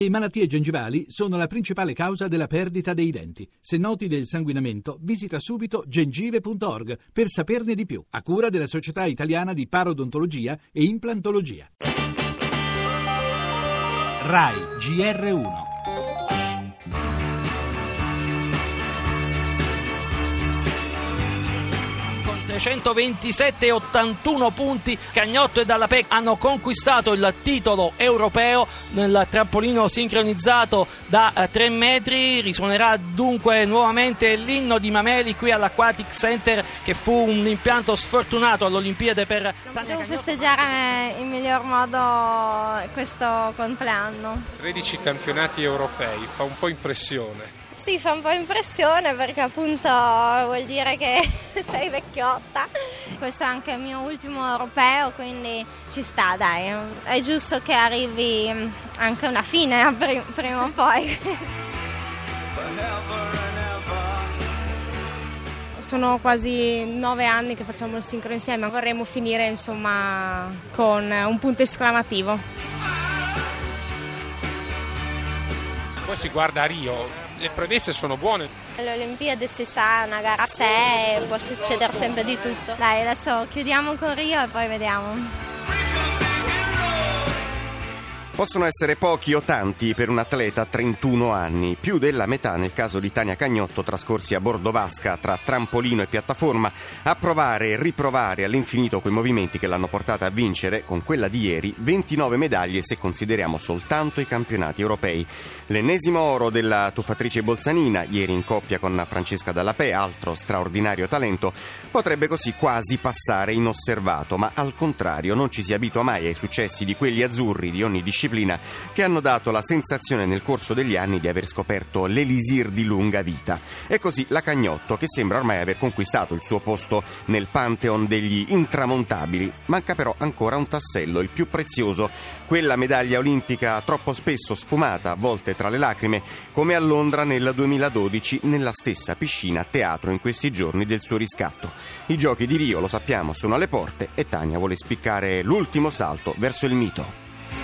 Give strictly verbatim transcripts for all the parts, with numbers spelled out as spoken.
Le malattie gengivali sono la principale causa della perdita dei denti. Se noti del sanguinamento, visita subito gengive punto org per saperne di più, a cura della Società Italiana di Parodontologia e Implantologia. RAI G R uno. trecentoventisette e ottantuno punti, Cagnotto e Dalla Pecca hanno conquistato il titolo europeo nel trampolino sincronizzato da eh, tre metri. Risuonerà dunque nuovamente l'inno di Mameli qui all'Aquatic Center, che fu un impianto sfortunato all'Olimpiade per Tania Devo Cagnotto. festeggiare in miglior modo questo compleanno. tredici campionati europei, fa un po' impressione. Sì, fa un po' impressione perché appunto vuol dire che sei vecchiotta. Questo è anche il mio ultimo europeo, quindi ci sta, dai. È giusto che arrivi anche una fine prima o poi. Sono quasi nove anni che facciamo il sincro insieme, vorremmo finire insomma con un punto esclamativo. Poi si guarda a Rio. Le premesse sono buone. Le Olimpiadi si sa, è una gara a sé, può succedere sempre di tutto. Dai, adesso chiudiamo con Rio e poi vediamo. Possono essere pochi o tanti per un atleta a trentuno anni, più della metà nel caso di Tania Cagnotto, trascorsi a bordo vasca tra trampolino e piattaforma, a provare e riprovare all'infinito quei movimenti che l'hanno portata a vincere, con quella di ieri, ventinove medaglie se consideriamo soltanto i campionati europei. L'ennesimo oro della tuffatrice bolzanina, ieri in coppia con Francesca Dalla Pecca, altro straordinario talento, potrebbe così quasi passare inosservato, ma al contrario non ci si abitua mai ai successi di quelli azzurri di ogni disciplina che hanno dato la sensazione nel corso degli anni di aver scoperto l'elisir di lunga vita. E così la Cagnotto, che sembra ormai aver conquistato il suo posto nel pantheon degli intramontabili. Manca però ancora un tassello, il più prezioso, quella medaglia olimpica troppo spesso sfumata, a volte tra le lacrime, come a Londra nel duemiladodici, nella stessa piscina teatro in questi giorni del suo riscatto. I giochi di Rio, lo sappiamo, sono alle porte e Tania vuole spiccare l'ultimo salto verso il mito.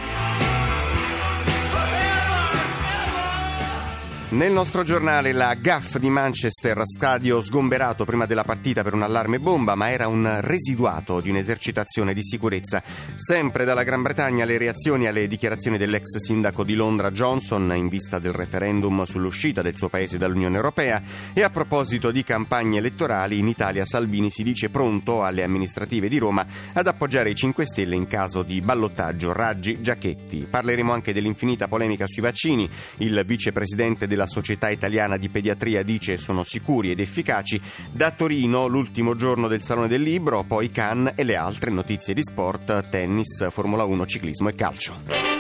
Nel nostro giornale la gaffe di Manchester, stadio sgomberato prima della partita per un allarme bomba, ma era un residuato di un'esercitazione di sicurezza. Sempre dalla Gran Bretagna le reazioni alle dichiarazioni dell'ex sindaco di Londra Johnson in vista del referendum sull'uscita del suo paese dall'Unione Europea. E a proposito di campagne elettorali, in Italia Salvini si dice pronto alle amministrative di Roma ad appoggiare i cinque Stelle in caso di ballottaggio Raggi-Giachetti. Parleremo anche dell'infinita polemica sui vaccini. Il vicepresidente della Società Italiana di Pediatria dice sono sicuri ed efficaci. Da Torino l'ultimo giorno del Salone del Libro, poi Cannes e le altre notizie di sport, tennis, Formula uno, ciclismo e calcio.